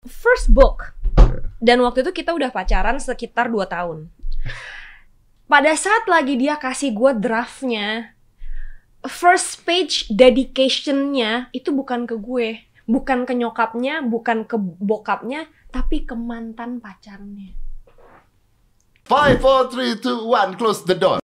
first book. Dan waktu itu kita udah pacaran sekitar 2 tahun. Pada saat lagi dia kasih gue draftnya, first page dedication-nya itu bukan ke gue, bukan ke nyokapnya, bukan ke bokapnya, tapi ke mantan pacarnya. 5, 4, 3, 2, 1, close the door.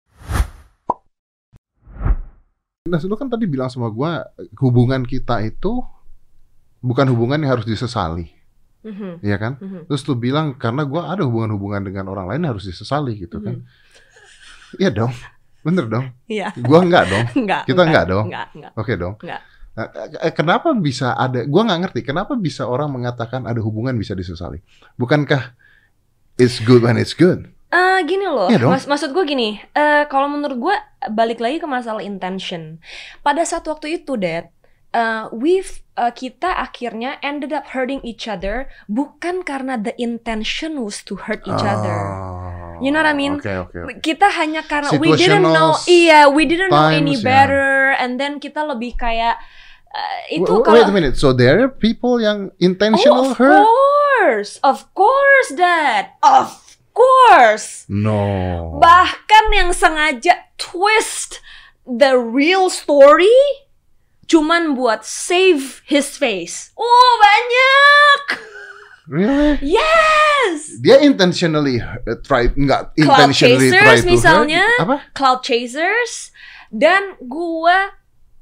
Nah, lu kan tadi bilang sama gue, hubungan kita itu bukan hubungan yang harus disesali. Iya kan? Terus lu bilang karena gue ada hubungan-hubungan dengan orang lain harus disesali gitu kan? Iya dong, bener dong. Iya. Gue enggak dong. Kita enggak dong. Enggak. Oke dong. Enggak. Kenapa bisa ada? Gue nggak ngerti. Kenapa bisa orang mengatakan ada hubungan bisa disesali? Bukankah it's good when it's good? Gini loh, Iya dong. maksud gue gini. Kalau menurut gue balik lagi ke masalah intention. Pada saat waktu itu, Dad, kita akhirnya ended up hurting each other bukan karena the intention was to hurt each other. You know what I mean? Okay. Kita hanya karena we didn't know any better, and then kita lebih kayak itu Wait a minute. So there are people yang intentional hurt? Of course, Dad. Of course. No. Bahkan yang sengaja twist the real story cuman buat save his face. Oh, banyak. Really? Yes. Dia intentionally nggak Cloud intentionally try Chasers to misalnya. hurt. Apa? Cloud Chasers. Dan gua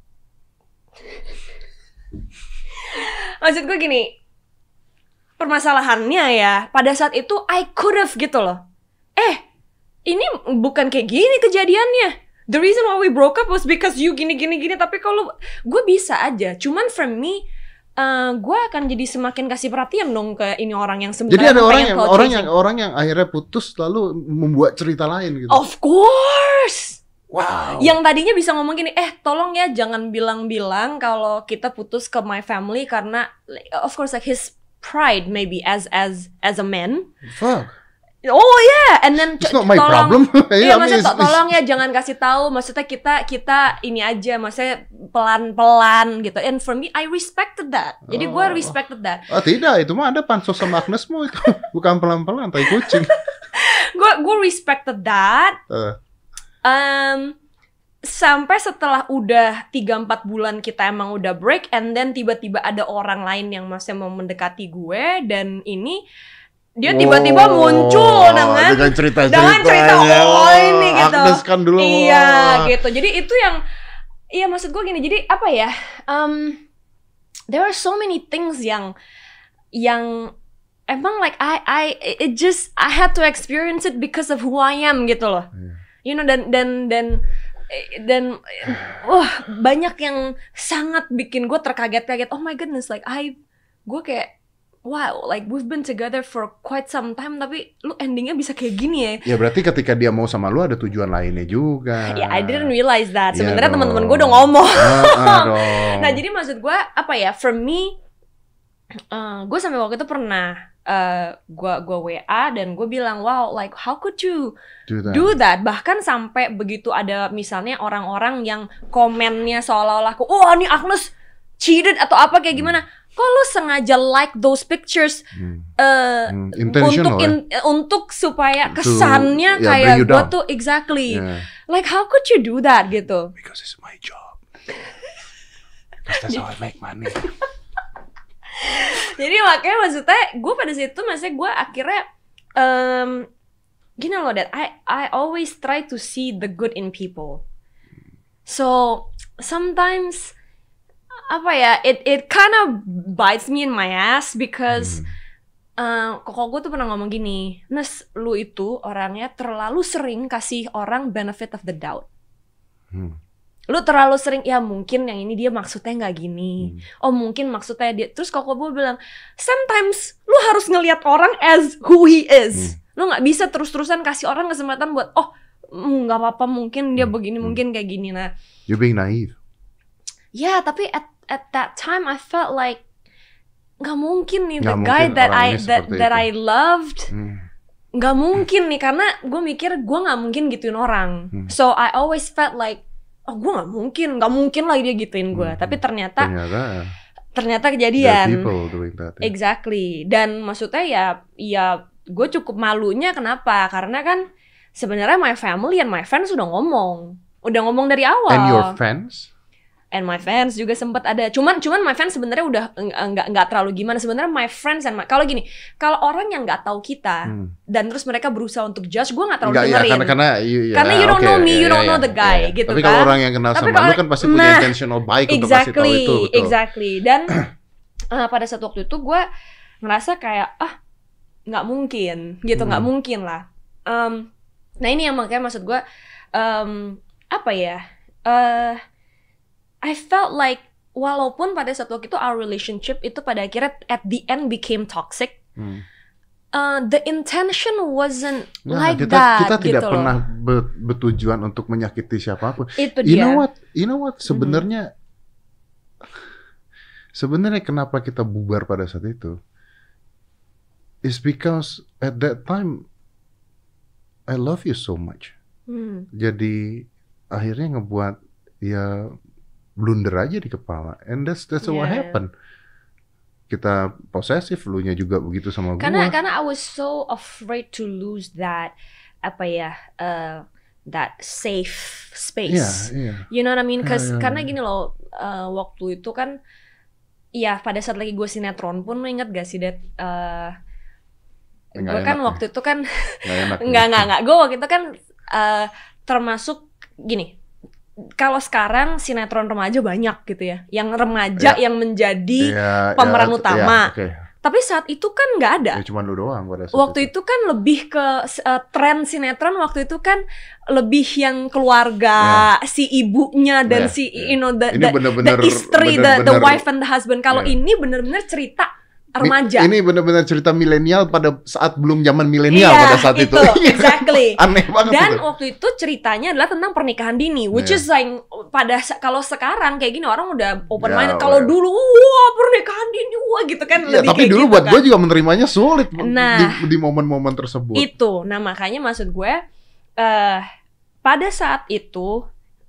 maksud gue gini, permasalahannya ya, pada saat itu I could have gitu loh. Ini bukan kayak gini kejadiannya. The reason why we broke up was because you gini. Tapi kalau gue bisa aja. Cuman for me, gue akan jadi semakin kasih perhatian dong ke ini orang yang sebenarnya. Jadi ada orang yang akhirnya putus lalu membuat cerita lain gitu. Of course. Wow. Yang tadinya bisa ngomong gini, tolong ya jangan bilang-bilang kalau kita putus ke my family karena of course like his pride maybe as a man. Fuck. Oh yeah, and then it's not my tolong, problem. Iya, maksudnya tolong ya jangan kasih tahu. Maksudnya kita ini aja, maksudnya pelan-pelan gitu. And for me, I respected that. Jadi gue respected that. Tidak, itu mah ada pansos sama Agnesmu itu. Bukan pelan-pelan, tai kucing. Gue respected that. Sampai setelah udah 3-4 bulan kita emang udah break, and then tiba-tiba ada orang lain yang masih mau mendekati gue, dan ini dia tiba-tiba muncul dengan cerita ini gitu. Agnes kan dulu. Iya gitu. Jadi itu yang, iya maksud gue gini. Jadi apa ya? There are so many things yang emang like I had to experience it because of who I am gitu loh. You know, dan banyak yang sangat bikin gue terkaget-kaget. Oh my goodness, like gue kayak wow, like we've been together for quite some time, tapi lu endingnya bisa kayak gini ya. Ya berarti ketika dia mau sama lu ada tujuan lainnya juga. Ya, I didn't realize that. Ya sebenarnya teman-teman gue udah ngomong. Nah, jadi maksud gue apa ya? For me, gue sampai waktu itu pernah gue WA dan gue bilang, wow, like how could you do that? Bahkan sampai begitu ada misalnya orang-orang yang komennya seolah-olah, oh ini Agnes cheated atau apa kayak gimana? Kok lu sengaja like those pictures untuk supaya kesannya kayak gue tuh exactly like how could you do that gitu? Because it's my job. Because that's how I make money. Jadi makanya maksudnya gue pada situ maksudnya gue akhirnya gini loh, Dad, I always try to see the good in people. So sometimes apa ya, it kind of bites me in my ass because kok gue tuh pernah ngomong gini, Nes, lu itu orangnya terlalu sering kasih orang benefit of the doubt. Lu terlalu sering, ya mungkin yang ini dia maksudnya nggak gini. Oh mungkin maksudnya dia. Terus kok gue bilang, sometimes lu harus ngelihat orang as who he is. Lu nggak bisa terus-terusan kasih orang kesempatan buat nggak apa-apa mungkin dia begini, mungkin kayak gini. Nah, you're being naive. Ya, tapi at that time I felt like nggak mungkin nih the guy that I loved nggak mungkin nih, karena gue mikir gue nggak mungkin gituin orang. So I always felt like gue nggak mungkin lah dia gituin gue. Tapi ternyata ternyata There are kejadian. people doing that. Ya. Exactly. Dan maksudnya ya gue cukup malunya kenapa? Karena kan sebenarnya my family and my friends udah ngomong dari awal. And your fans? And my fans juga sempat ada. Cuman my fans sebenarnya udah nggak terlalu gimana. Sebenarnya my friends and kalau gini, kalau orang yang nggak tahu kita dan terus mereka berusaha untuk judge, gue nggak terlalu dengerin. Karena you don't know me, you don't know the guy, gitu Tapi kan. kalau orang yang kenal sama lu kan pasti punya intentional baik untuk kasih tahu itu. Betul. Exactly. Dan pada saat waktu itu gue ngerasa kayak nggak mungkin gitu, nggak mungkin lah. Nah ini yang makanya maksud gue apa ya? I felt like walaupun pada saat waktu itu our relationship itu pada akhirnya at the end became toxic, the intention wasn't like that. Kita gitu tidak loh. pernah bertujuan untuk menyakiti siapapun. Itu You dia. know what? Sebenarnya kenapa kita bubar pada saat itu? Is because at that time I love you so much. Jadi akhirnya ngebuat ya blunder aja di kepala, and that's what happened. Kita posesif, lu nya juga begitu sama gue. Karena I was so afraid to lose that that safe space. You know what I mean? Karena gini loh, waktu itu kan, ya pada saat lagi gue sinetron pun, lo inget gak sih Dad? Gue kan waktu itu kan nggak. Gue waktu itu kan termasuk gini. Kalau sekarang sinetron remaja banyak gitu ya, yang remaja yang menjadi pemeran utama. Tapi saat itu kan nggak ada. Ya, cuma lu doang pada saat waktu itu kan lebih ke tren sinetron waktu itu kan lebih yang keluarga, si ibunya dan si the istri, the wife and the husband. Kalau ini bener-bener cerita remaja. Ini benar-benar cerita milenial pada saat belum zaman milenial pada saat itu. Exactly. Aneh banget. Dan waktu itu ceritanya adalah tentang pernikahan dini, which is like kalau sekarang kayak gini orang udah open minded. Kalau dulu wah pernikahan dini wah gitu kan lebih tapi kayak dulu gitu buat kan. gue juga menerimanya sulit Nah, di momen-momen tersebut. Itu. Nah, makanya maksud gue pada saat itu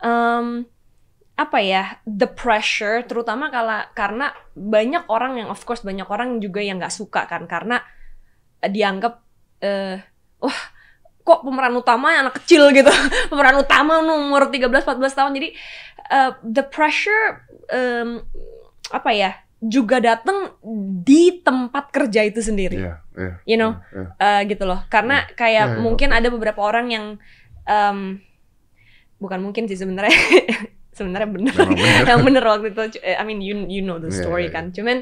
apa ya, the pressure, terutama karena banyak orang yang, of course banyak orang juga yang nggak suka kan, karena dianggap wah kok pemeran utama anak kecil gitu, pemeran utama umur 13-14 tahun, jadi the pressure apa ya juga datang di tempat kerja itu sendiri, you know, gitu loh, karena kayak mungkin ada beberapa orang yang bukan mungkin sih sebenarnya. Sebenarnya bener, yang bener waktu itu. I mean you know the story kan. Cuman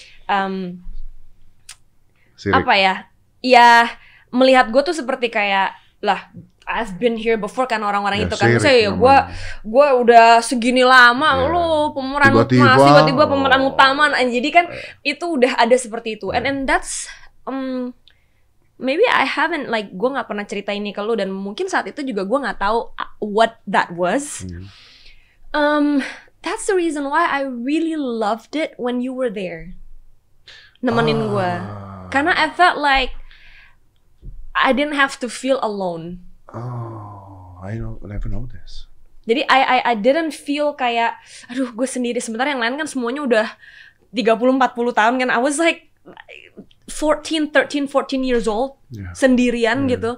apa ya? Ya melihat gue tuh seperti kayak lah I've been here before kan orang-orang itu kan. Maksudnya ya gue udah segini lama lo pemeran tiba-tiba pemeran utama. Jadi kan itu udah ada seperti itu. And that's maybe I haven't like gue nggak pernah cerita ini ke lo, dan mungkin saat itu juga gue nggak tahu what that was. That's the reason why I really loved it when you were there, nemenin gue, karena I felt like I didn't have to feel alone. I never know this. Jadi I didn't feel kayak aduh gue sendiri, sementara yang lain kan semuanya udah 30-40 tahun kan. I was like 13, 14 years old, sendirian gitu.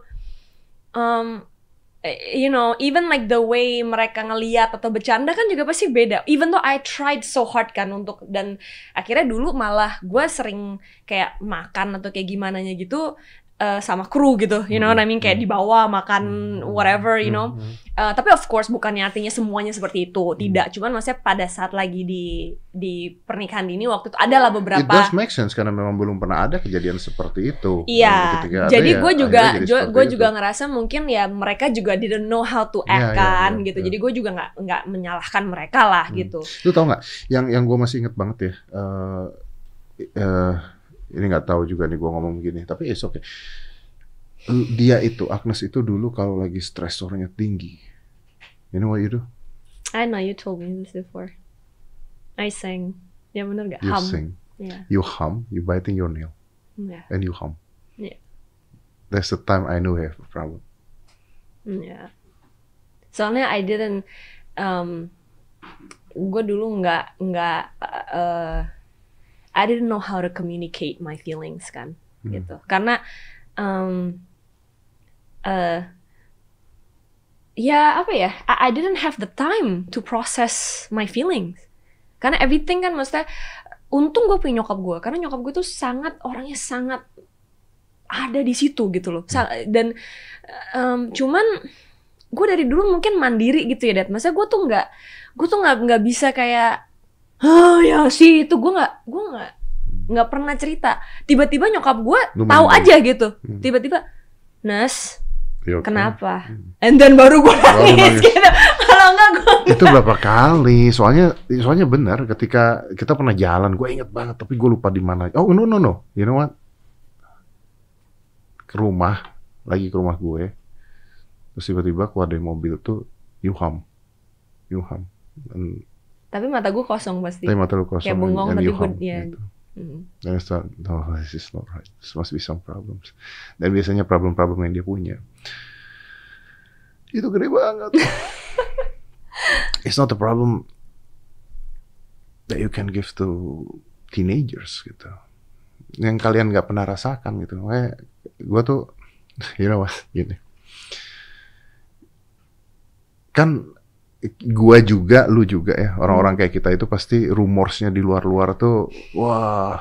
You know, even like the way mereka ngeliat atau bercanda kan juga pasti beda. Even though I tried so hard kan untuk, dan akhirnya dulu malah gue sering kayak makan atau kayak gimana gitu sama kru gitu, you know what I mean, kayak dibawa makan whatever, you know. Tapi of course bukannya artinya semuanya seperti itu, tidak. Cuman maksudnya pada saat lagi di pernikahan dini waktu itu adalah beberapa. It does make sense karena memang belum pernah ada kejadian seperti itu. Iya. Jadi gue juga ngerasa mungkin ya mereka juga didn't know how to act kan gitu. Jadi gue juga nggak menyalahkan mereka lah gitu. Lu tau nggak? Yang gue masih inget banget ya. Ini nggak tahu juga nih gue ngomong begini, tapi it's okay. Dia itu, Agnes itu dulu kalau lagi stresornya tinggi, you know what you do? I know you told me this before. I sing. Ya bener gak? You hum. sing. Yeah. You hum. You biting your nail. Yeah. And you hum. Yeah. That's the time I knew I have a problem. Yeah. Soalnya I didn't. Gue dulu nggak I didn't know how to communicate my feelings kan, gitu. Karena ya apa ya, I didn't have the time to process my feelings. Karena everything kan maksudnya, untung gue punya nyokap gue, karena nyokap gue tuh orangnya sangat ada di situ gitu loh. Dan cuman gue dari dulu mungkin mandiri gitu ya, Dad. Maksudnya gue tuh nggak bisa kayak, ya sih itu gue nggak pernah cerita. Tiba-tiba nyokap gue tahu aja gitu. Tiba-tiba, Nas, okay. Kenapa? And then baru gue nangis gitu. Kalau enggak gue itu berapa kali? Soalnya benar ketika kita pernah jalan, gue inget banget tapi gue lupa di mana. Oh no. You know what? Ke rumah gue. Terus tiba-tiba keluar dari mobil tuh Yuham. Tapi mata gue kosong pasti. Tapi mata lu kosong. Kayak bengong tapi gue gitu. Dan I thought, no, this is not right. This must be some problems. Dan biasanya problem-problem yang dia punya itu gede banget. It's not a problem that you can give to teenagers gitu. Yang kalian nggak pernah rasakan gitu. Gue tuh, you know what, gini. Kan gue juga, lu juga ya, orang-orang kayak kita itu pasti rumorsnya di luar-luar tuh, wah,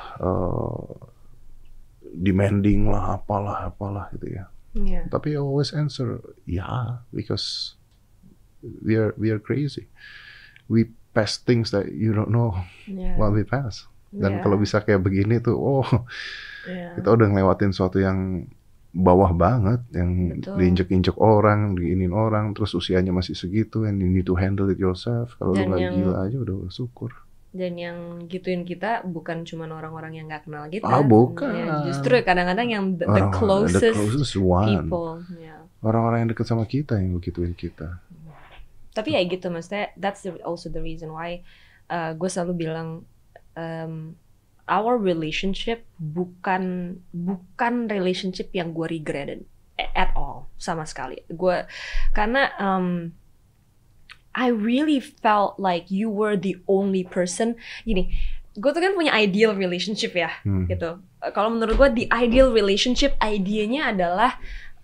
demanding lah, apalah gitu ya. Yeah. Tapi I always answer, yeah, because we are crazy. We pass things that you don't know what we pass. Dan kalau bisa kayak begini tuh, kita udah ngelewatin sesuatu yang bawah banget, yang diinjek-injek orang, diinin orang, terus usianya masih segitu, and you need to handle it yourself. Kalau lu nggak gila aja udah syukur. Dan yang gituin kita bukan cuma orang-orang yang nggak kenal kita. Bukan. Ya, justru kadang-kadang yang the closest people. Yeah. Orang-orang yang dekat sama kita yang begituin kita. Tapi ya gitu, maksudnya that's also the reason why gue selalu bilang our relationship bukan relationship yang gue regretted at all, sama sekali. Karena I really felt like you were the only person. Gini, gue tuh kan punya ideal relationship ya, gitu. Kalau menurut gue the ideal relationship, idenya adalah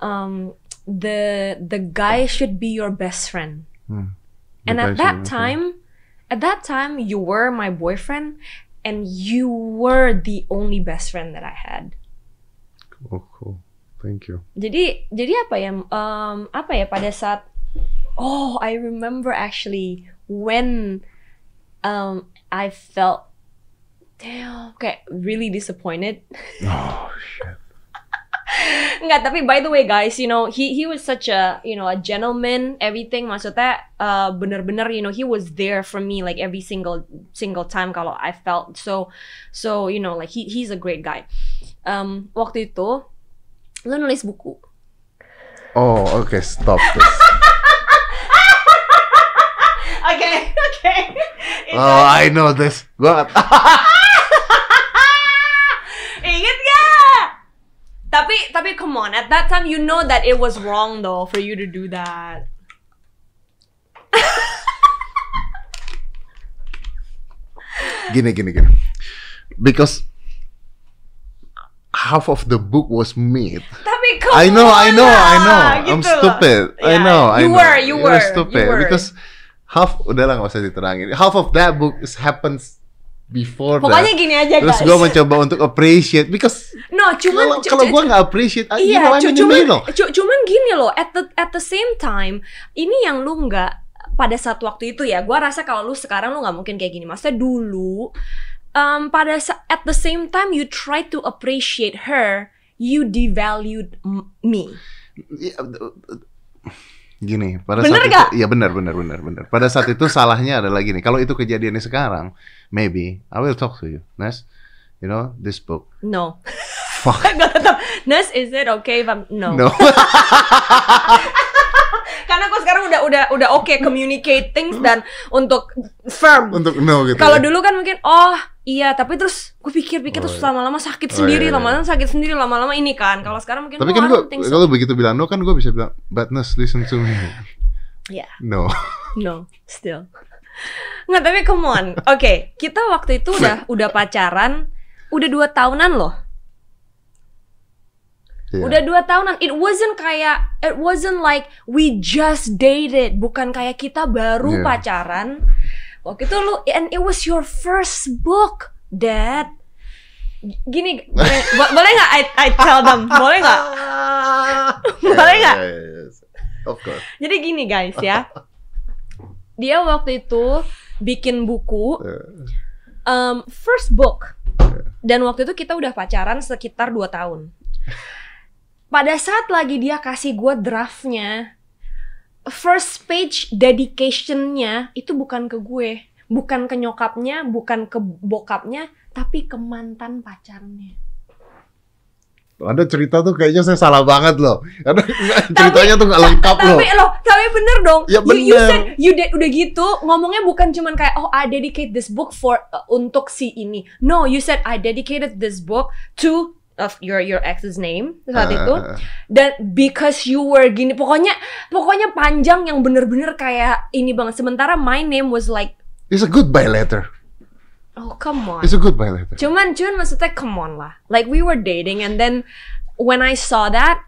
the guy should be your best friend. And at that time you were my boyfriend, and you were the only best friend that I had. Cool. Thank you. Jadi apa ya pada saat I remember actually when I felt kayak really disappointed. Oh shit. Enggak, tapi by the way guys, you know, he was such a, you know, a gentleman, everything. Maksudnya bener-bener, you know, he was there for me like every single time kalau I felt so you know, like he's a great guy. Waktu itu lu nulis buku. Oh, okay, stop this. Okay. Oh, I know this. Gua Ingat gak? Tapi come on, at that time you know that it was wrong though for you to do that. Gini. Because half of the book was made. Tapi come I know. on gitu. I'm stupid. Yeah. I know. You were stupid. Because half, udahlah nggak usah diterangin. Half of that book happens before Pokoknya that. Gini aja Terus guys. gue mencoba untuk appreciate because kalau gue nggak appreciate, cuman gini loh. At the same time, ini yang lu nggak pada saat waktu itu ya. Gue rasa kalau lu sekarang lu nggak mungkin kayak gini. Maksudnya dulu, at the same time you try to appreciate her, you devalued me. Gini, pada bener saat gak? itu, ya benar. Pada saat itu salahnya adalah gini. Kalau itu kejadiannya sekarang, maybe I will talk to you, Nes. You know this book. No. Fuck. Nes, is it okay if I'm no? Karena aku sekarang udah okay communicate things dan untuk firm. Untuk no gitu. Kalau dulu kan mungkin iya, tapi terus gue pikir-pikir terus lama-lama sakit sendiri, lama-lama ini kan. Kalau sekarang mungkin tapi kan gue kalau begitu bilang no kan gue bisa bilang, but Nes, listen to me. Yeah. No, still. Nggak, tapi come on. Oke, kita waktu itu udah pacaran udah 2 tahunan loh. Iya. Udah 2 tahunan. It wasn't like we just dated. Bukan kayak kita baru Iya. pacaran. Waktu itu lu, and it was your first book, Dad. Gini, boleh nggak I tell them? Boleh nggak? Boleh nggak? Yes. Of course. Jadi gini guys ya. Dia waktu itu bikin buku first book. Dan waktu itu kita udah pacaran sekitar 2 tahun. Pada saat lagi dia kasih gue draftnya, first page dedication-nya itu bukan ke gue, bukan ke nyokapnya, bukan ke bokapnya, tapi ke mantan pacarnya. Anda cerita tuh kayaknya saya salah banget loh. Karena ceritanya tuh nggak lengkap loh. Tapi bener dong. Ya You bener. said, udah gitu ngomongnya bukan cuman kayak I dedicate this book for untuk si ini. No, you said I dedicated this book to your ex's name saat itu. Dan because you were gini, pokoknya panjang yang bener-bener kayak ini banget. Sementara my name was like, It's a goodbye letter. oh come on. It's a goodbye letter. Cuman maksudnya come on lah. Like we were dating and then when I saw that,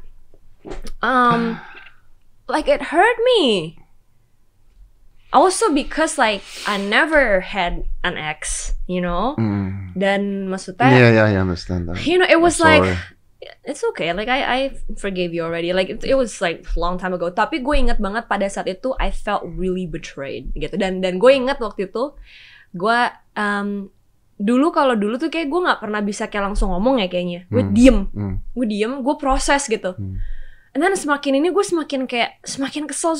like it hurt me. Also because like I never had an ex, you know. Dan maksudnya, Yeah, I understand that. you know, it was I'm like sorry. it's okay. Like I forgave you already. Like it was like a long time ago. Tapi gue inget banget pada saat itu I felt really betrayed gitu. Dan gue inget waktu itu gue dulu tuh kayak gue nggak pernah bisa kayak langsung ngomong ya kayaknya. Gue diem, gue proses gitu. And then semakin ini gue semakin kesel,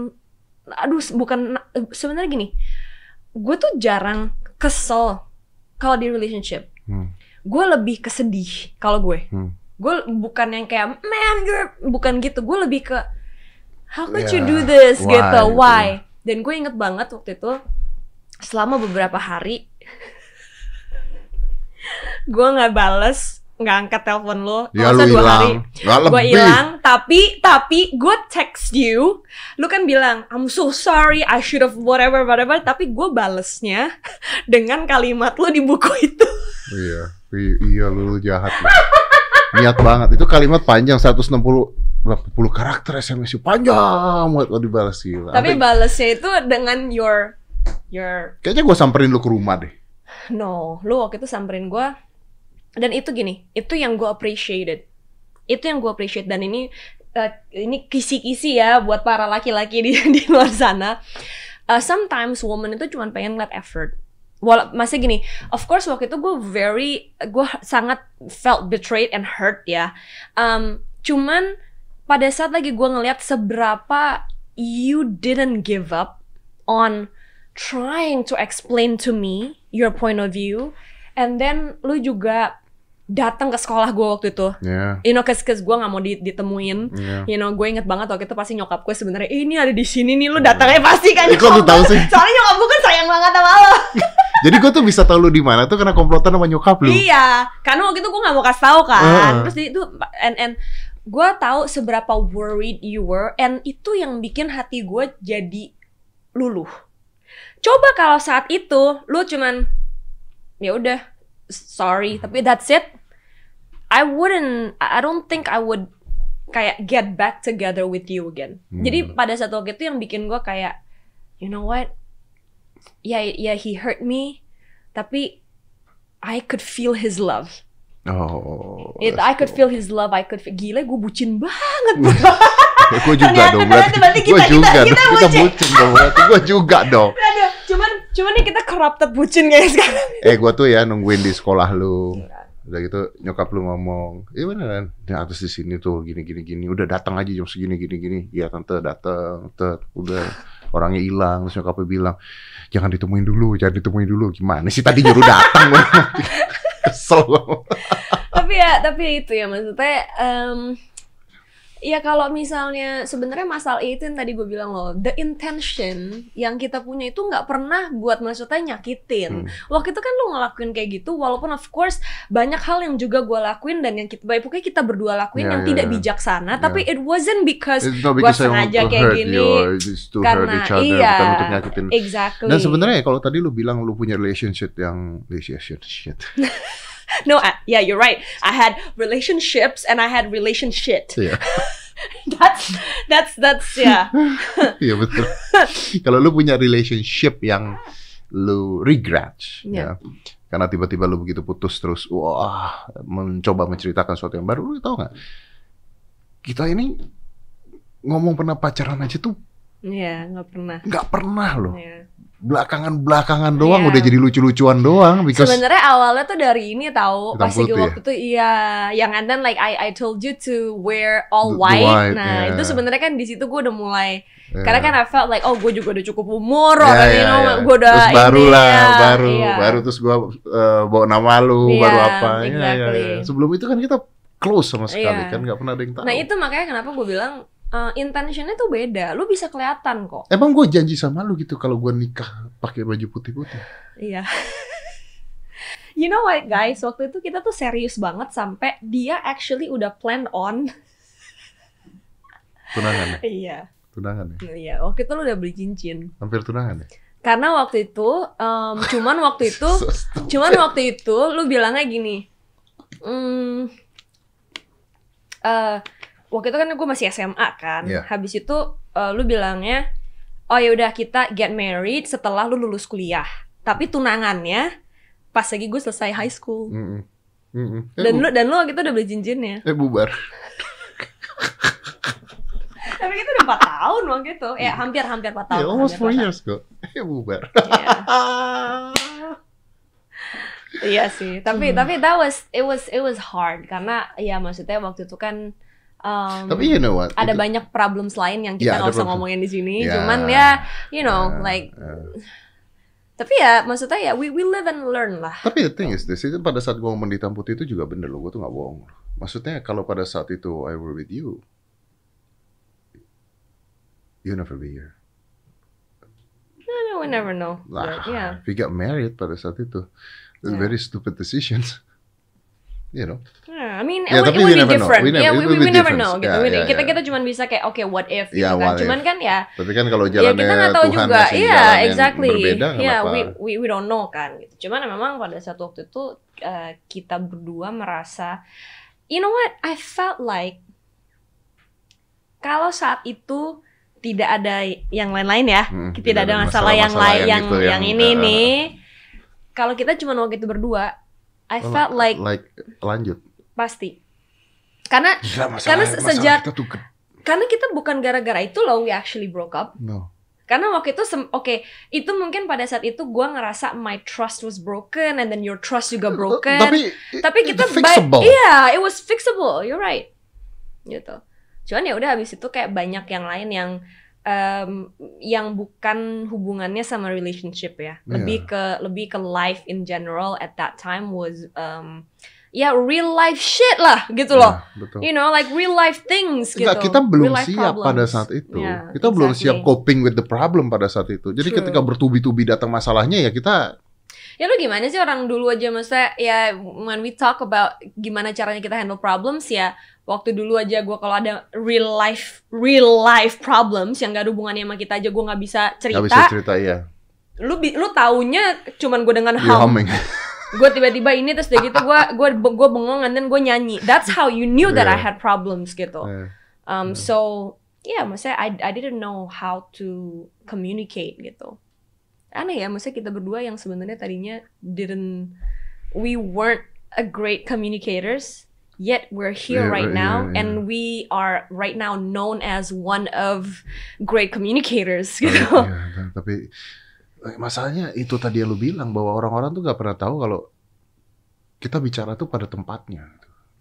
sebenarnya gini, gue tuh jarang kesel kalau di relationship. Gue lebih kesedih kalau gue. Gue bukan yang kayak man bukan gitu. Gue lebih ke how could you do this gitu, why? Dan gue inget banget waktu itu selama beberapa hari gue nggak angkat telepon lo. Ya lu hilang. Gue hilang, tapi gue text you. Lu kan bilang I'm so sorry, I should have whatever. Tapi gue balesnya dengan kalimat lo di buku itu. Iya lu jahat lu. Niat banget. Itu kalimat panjang 160 karakter SMS panjang buat lo dibalas gila. Tapi balesnya itu dengan your kayaknya gue samperin lu ke rumah deh. No, lu waktu itu samperin gue. Dan itu gini, itu yang gue appreciated. Dan ini kisi-kisi ya buat para laki-laki di luar sana. Sometimes woman itu cuma pengen ngeliat effort. Masih gini, of course waktu itu gue sangat felt betrayed and hurt ya. Cuman pada saat lagi gue ngeliat seberapa you didn't give up on trying to explain to me your point of view, and then lu juga datang ke sekolah gue waktu itu, you know, cause gue nggak mau ditemuin, you know, gue inget banget waktu itu pasti nyokap gue sebenarnya ini ada di sini nih, lu datangnya pasti kan. Kok lu tahu sih? Soalnya nyokap gue kan sayang banget sama lo. Jadi gue tuh bisa tahu lu di mana tuh karena komplotan sama nyokap lu. Iya, karena waktu itu gue nggak mau kasih tahu kan, terus itu and gue tahu seberapa worried you were, and itu yang bikin hati gue jadi luluh. Coba kalau saat itu lu cuman ya udah sorry, tapi that's it. I don't think I would kayak get back together with you again. Jadi pada saat waktu itu yang bikin gue kayak, you know what? Yeah, he hurt me, tapi I could feel his love. I could feel his love. Gila, gue bucin banget. Gue juga dong. Kita bucin dong. Gue juga dong. Cuman nih kita corrupted bucin kayak sekarang. Gue tuh ya nungguin di sekolah lu. Udah gitu nyokap lu ngomong, iya beneran, nah, atas di sini tuh gini. Udah datang aja jam segini gini. Iya tante datang, udah orangnya hilang. Terus nyokapnya bilang, jangan ditemuin dulu. Gimana sih tadi nyuruh datang? Kesel. Tapi itu ya maksudnya. Ya kalau misalnya sebenarnya masalah itu yang tadi gue bilang loh, the intention yang kita punya itu nggak pernah buat maksudnya nyakitin. Waktu itu kan lu ngelakuin kayak gitu, walaupun of course banyak hal yang juga gue lakuin dan yang pokoknya kita berdua lakuin yang tidak bijaksana, tapi it wasn't because gue sengaja kayak gini, karena bukan untuk nyakitin. Exactly. Dan sebenarnya kalau tadi lu bilang lu punya relationship No, yeah, you're right. I had relationships and I had relationship. Iya. That's yeah. Iya betul. Kalau lu punya relationship yang lu regret, Yeah. ya, karena tiba-tiba lu begitu putus terus, wah, mencoba menceritakan sesuatu yang baru, lu tau nggak? Kita ini ngomong pernah pacaran aja tuh Iya, nggak pernah loh. Yeah. Belakangan doang Iya. udah jadi lucu-lucuan doang. Because Sebenarnya awalnya tuh dari ini tahu Hitam pas lagi putih waktu itu iya, yang and then like I told you to wear all The white. white, Nah, yeah. itu sebenarnya kan di situ gue udah mulai Yeah. karena kan I felt like oh gue juga udah cukup umur, Ya, you ya, know, ya. gue udah terus baru ini, lah, ya, iya. baru terus gua bawa nama lu, Iya, baru apa? Ya, exactly. ya. Sebelum itu kan kita close sama sekali Iya. kan, nggak pernah ada yang tahu. Nah itu makanya kenapa gue bilang intentionnya tuh beda. Lu bisa kelihatan kok. Emang gue janji sama lu gitu kalau gue nikah pakai baju putih-putih. Iya. You know what guys, waktu itu kita tuh serius banget sampai dia actually udah plan on. Tunangan ya? Iya. Tunangan ya? Iya, waktu itu lu udah beli cincin. Hampir tunangan ya? Karena waktu itu, cuman waktu itu lu bilangnya gini, waktu itu kan gue masih SMA kan, Yeah. habis itu lu bilangnya, oh ya udah kita get married setelah lu lulus kuliah, tapi tunangannya pas lagi gue selesai high school. Dan lu waktu itu udah beli cincinnya. Bubar. Tapi kita udah 4 tahun waktu itu, ya hampir 4 tahun. Ya, almost 4 hampir years kok. Bubar. Iya. Iya sih, tapi it was hard karena ya maksudnya waktu itu kan Tapi you know what? ada Itu- banyak problems lain yang kita Ya, nggak ada usah problem. ngomongin di sini. Ya. Cuman ya, you know, Ya, like, ya. tapi ya maksudnya ya we live and learn lah. Tapi the thing is this, itu pada saat gue ngomong di hitam putih itu juga bener loh, gue tuh gak bohong. Maksudnya kalau pada saat itu I were with you never be here. We never know. Lah, But, yeah. we got married pada saat itu. Yeah. Very stupid decisions. You know. Yeah, I mean, Ya, it tapi would we be never know. different. We never- Yeah, it we will be never different. know. Gitu. Ya, ya, kita ya. cuma bisa kayak okay, what if? Gitu Ya, kan. what Cuman if. kan ya. Tapi kan kalau Ya jalannya kita nggak tahu Tuhan juga, ngasih iya jalan yang exactly, berbeda nggak ya apa-apa. we don't know kan. Gitu. Cuman memang pada saat waktu itu kita berdua merasa, you know what, I felt like kalau saat itu tidak ada yang lain-lain ya, tidak ada masalah yang lain, gitu, yang ini nih. Kalau kita cuma waktu itu berdua, I felt like lanjut. pasti. Karena Gila, karena sejak kita tuh karena kita bukan gara-gara itu loh we actually broke up. no. Karena waktu itu oke, itu mungkin pada saat itu gue ngerasa my trust was broken and then your trust juga broken. Tapi kita fixable. iya, it was fixable. You're right. Gitu. Cuman ya udah habis itu kayak banyak yang lain yang bukan hubungannya sama relationship ya. Lebih ke life in general at that time was ya real life shit lah gitu loh. Betul. You know, like real life things gitu. Enggak, kita belum Real life siap problems. pada saat itu. Yeah, Kita belum exactly. siap coping with the problem pada saat itu. Jadi True. ketika bertubi-tubi datang masalahnya ya kita Ya lu gimana sih orang dulu aja, maksudnya ya when we talk about gimana caranya kita handle problems ya, waktu dulu aja gue kalau ada real life problems yang gak ada hubungannya sama kita aja gue nggak bisa cerita. nggak bisa cerita ya. Lu taunya cuman gue dengan You humming. gue tiba-tiba ini terus udah gitu gue bengong and then gue nyanyi. That's how you knew that I Yeah. had problems gitu. Yeah. So yeah, maksudnya I didn't know how to communicate gitu. Aneh ya, maksudnya kita berdua yang sebenarnya tadinya we weren't a great communicators, yet we're here right now, and we are right now known as one of great communicators gitu. Ya, tapi masalahnya itu tadi yang lu bilang bahwa orang-orang tuh gak pernah tahu kalau kita bicara tuh pada tempatnya.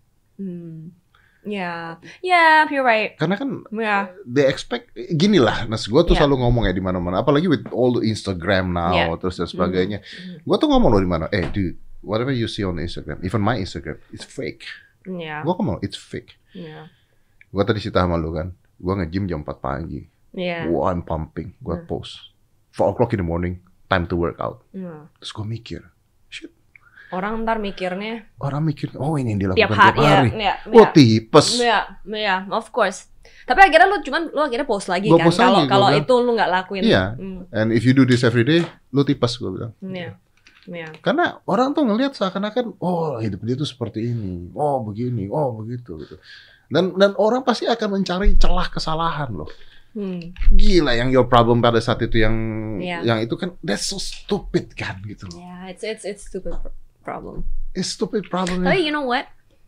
Yeah, you're right. Karena kan Yeah. they expect gini lah. Nah, gue tuh Yeah. selalu ngomong ya di mana-mana. Apalagi with all the Instagram now Yeah. terus dan sebagainya. Gue tuh ngomong loh di mana. Dude, whatever you see on Instagram, even my Instagram, it's fake. Yeah. Gue ngomong it's fake. Yeah. Gue tadi cerita sama lu kan. Gue nge-gym jam 4 pagi. Yeah. Wah, I'm pumping. Gue post 4 o'clock in the morning, time to work out. Yeah. Terus gue mikir, shit. Orang ntar mikirnya Orang mikir, oh ini yang tiap dilakukan tiap hari. ya. Oh tipes. Ya, of course. Tapi akhirnya lu akhirnya post lagi Gua kan. post lagi, Kalau gua bilang. itu lu nggak lakuin. Iya. And if you do this every day, lu tipes gue bilang. Iya. Yeah. Karena orang tuh ngelihat seakan-akan, oh hidup dia tuh seperti ini, oh begini, oh begitu gitu. Dan orang pasti akan mencari celah kesalahan loh. Gila yang your problem pada saat itu yang itu kan that's so stupid kan gitu loh. Yeah, it's stupid problem. It's stupid problem. Tapi you know what?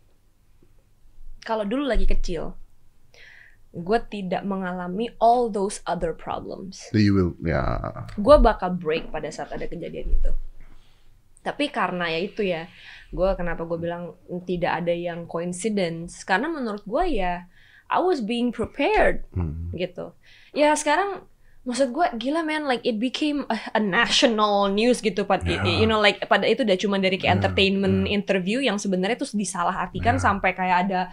Kalau dulu lagi kecil, gue tidak mengalami all those other problems. You will, ya. Gue bakal break pada saat ada kejadian itu. Tapi karena ya itu ya, kenapa gue bilang tidak ada yang coincidence? Karena menurut gue ya, I was being prepared gitu. Ya sekarang maksud gue gila man, like it became a national news gitu you know, like pada itu udah cuma dari kayak entertainment interview yang sebenarnya tuh disalahartikan sampai kayak ada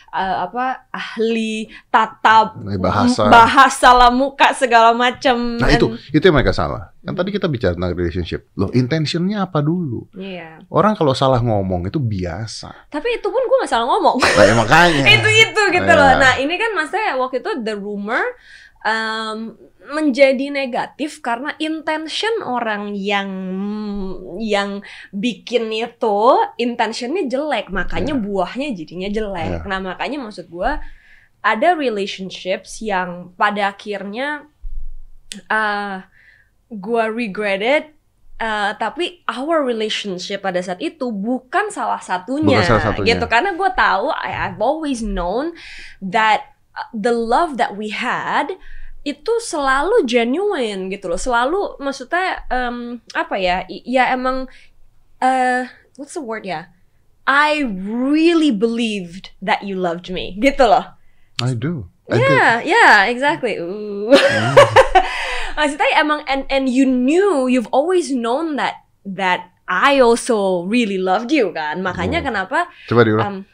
ahli tata bahasa lah muka segala macam. Nah itu yang mereka salah. Kan tadi kita bicara tentang relationship. Loh, intentionnya apa dulu? Iya. Orang kalau salah ngomong itu biasa. Tapi itu pun gue gak salah ngomong. Nah, ya makanya. itu gitu loh. Nah ini kan maksudnya waktu itu the rumor menjadi negatif karena intention orang yang bikin itu intentionnya jelek, makanya buahnya jadinya jelek. Nah makanya maksud gue ada relationships yang pada akhirnya gue regretted, tapi our relationship pada saat itu bukan salah satunya. Gitu, karena gue tahu I've always known that the love that we had itu selalu genuine gitu loh, selalu maksudnya ya emang what's the word ya, I really believed that you loved me gitu loh. I do. Yeah, exactly. Maksudnya emang and you've always known that I also really loved you kan, makanya kenapa? Coba diulang.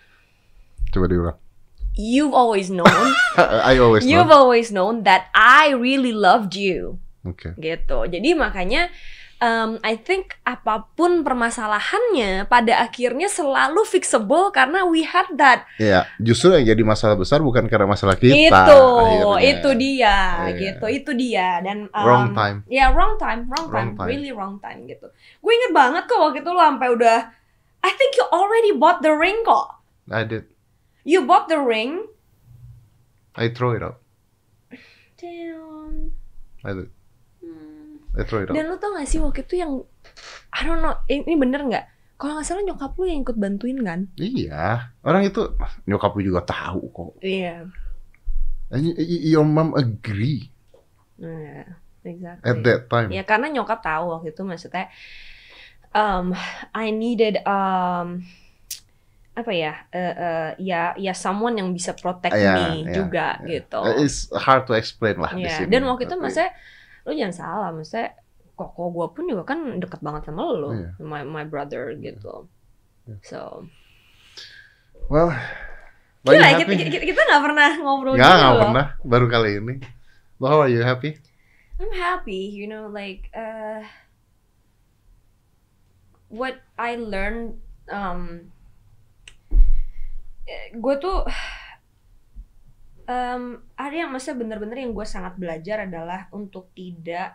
You've always known. You've always known that I really loved you. Okay. Gitu. Jadi makanya I think apapun permasalahannya pada akhirnya selalu fixable karena we had that. Iya, justru yang jadi masalah besar bukan karena masalah kita. Itu dia, gitu. Itu dia dan wrong time. Ya, wrong time, really wrong time gitu. Gue inget banget kok waktu itu lo sampai udah, I think you already bought the ring kok. I did. You bought the ring. I throw it out. Damn. I did. I throw it out. Dan lu tau gak sih waktu itu yang I don't know, ini bener gak? Kalau gak salah nyokap lu yang ikut bantuin kan? Iya. Orang itu nyokap lu juga tahu kok. Iya. And your mom agree. Yeah, exactly. At that time. Ya karena nyokap tahu waktu itu maksudnya I needed ya someone yang bisa protect me juga gitu. It's hard to explain lah di sini. Dan waktu itu maksudnya lu jangan salah, maksudnya koko gue pun juga kan deket banget sama lu, my brother gitu. So, well, kita nggak pernah ngobrol. Nggak pernah, baru kali ini. How are you, happy? I'm happy, you know, like what I learned. Gue tuh ada yang maksudnya bener-bener yang gue sangat belajar adalah untuk tidak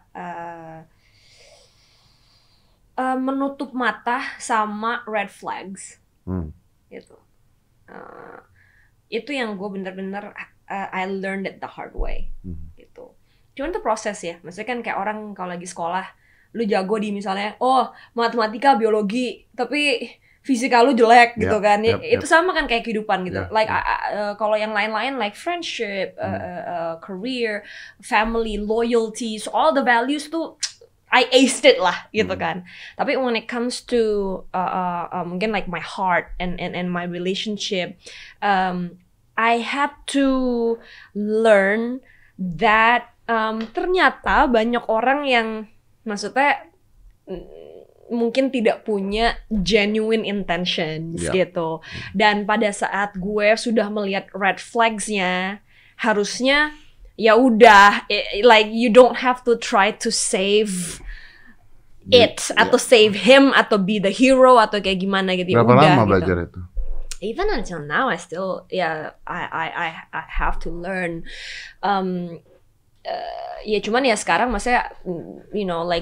menutup mata sama red flags gitu. Itu yang gue bener-bener I learned it the hard way gitu. Cuman itu proses ya, maksudnya kan kayak orang kalau lagi sekolah lu jago di misalnya matematika, biologi, tapi fisika lu jelek gitu kan. Itu sama kan kayak kehidupan gitu. Like kalau yang lain-lain like friendship, career, family, loyalty, so all the values tuh I aced it lah gitu kan. Tapi when it comes to mungkin like my heart and my relationship, I had to learn that ternyata banyak orang yang maksudnya mungkin tidak punya genuine intentions gitu. Dan pada saat gue sudah melihat red flags-nya, harusnya ya udah, like you don't have to try to save it atau save him atau be the hero atau kayak gimana gitu. Berapa lama belajar itu? Even until now I still I have to learn. Ya cuman ya sekarang maksudnya you know like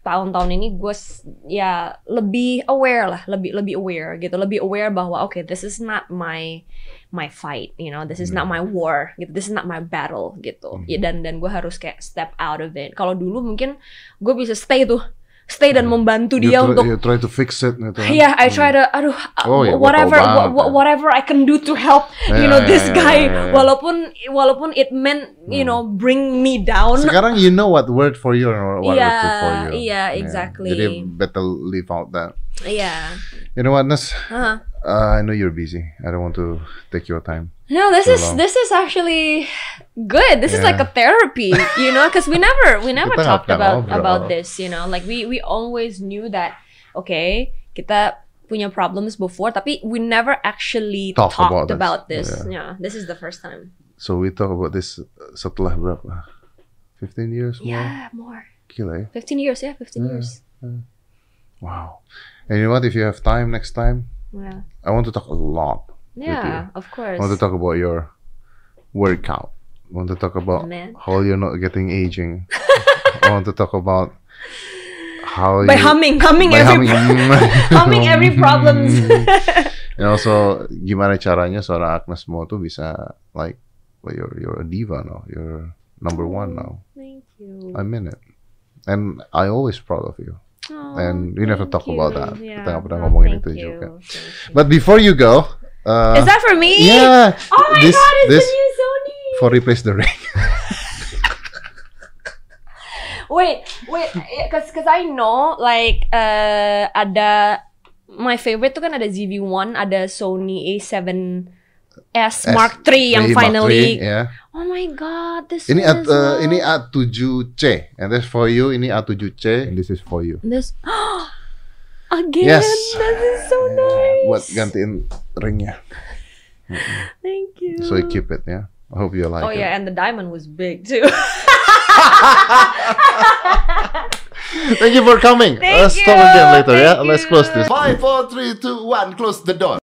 tahun-tahun ini gue ya lebih aware lah, lebih aware gitu, lebih aware bahwa okay, this is not my fight, you know, this is not my war gitu, this is not my battle gitu. Ya, dan gue harus kayak step out of it. Kalau dulu mungkin gue bisa stay dan membantu dia untuk you try to fix it gitu. Yeah, I try to whatever I can do to help this guy. Walaupun it meant bring me down. Sekarang you know what worked for you or what worked for you. Yeah, exactly. Jadi better leave out that. Yeah. You know what, Nes? I know you're busy. I don't want to take your time. No, this is actually good. This is like a therapy, because we never talked about this, like we always knew that okay, kita punya problems before, tapi we never actually talked about this. Yeah, this is the first time. So we talk about this setelah berapa? 15 years more? Yeah, more. Gila ya? 15 years, yeah, 15 years. Wow. And you know what? If you have time next time, I want to talk a lot. Yeah, of course. I want to talk about your workout. I want to talk about how you're not getting aging. I want to talk about how humming every problems. And also gimana caranya seorang Agnes Mo tuh bisa like, well, you're a diva now. You're number one now. Thank you. I mean it. And I always proud of you. Oh, and we never talk about that. Yeah. Kita nggak pernah ngomongin itu juga. But before you go, is that for me? Yeah. Oh my god, it's the new Sony. For replace the ring. Wait, because I know like ada my favorite tuh kan ada ZV-1, ada Sony A7S Mark III yang finally. Yeah. Oh my god, this ini is ini A7C, and this for you. Ini A7C, and this is for you. This again. Yes. This is so nice. Buat gantiin ringnya. Thank you. So you keep it, yeah. I hope you like it. Oh yeah, and the diamond was big too. Thank you for coming. Let's talk again later, yeah? Let's close this. 5, 4, 3, 2, 1, close the door.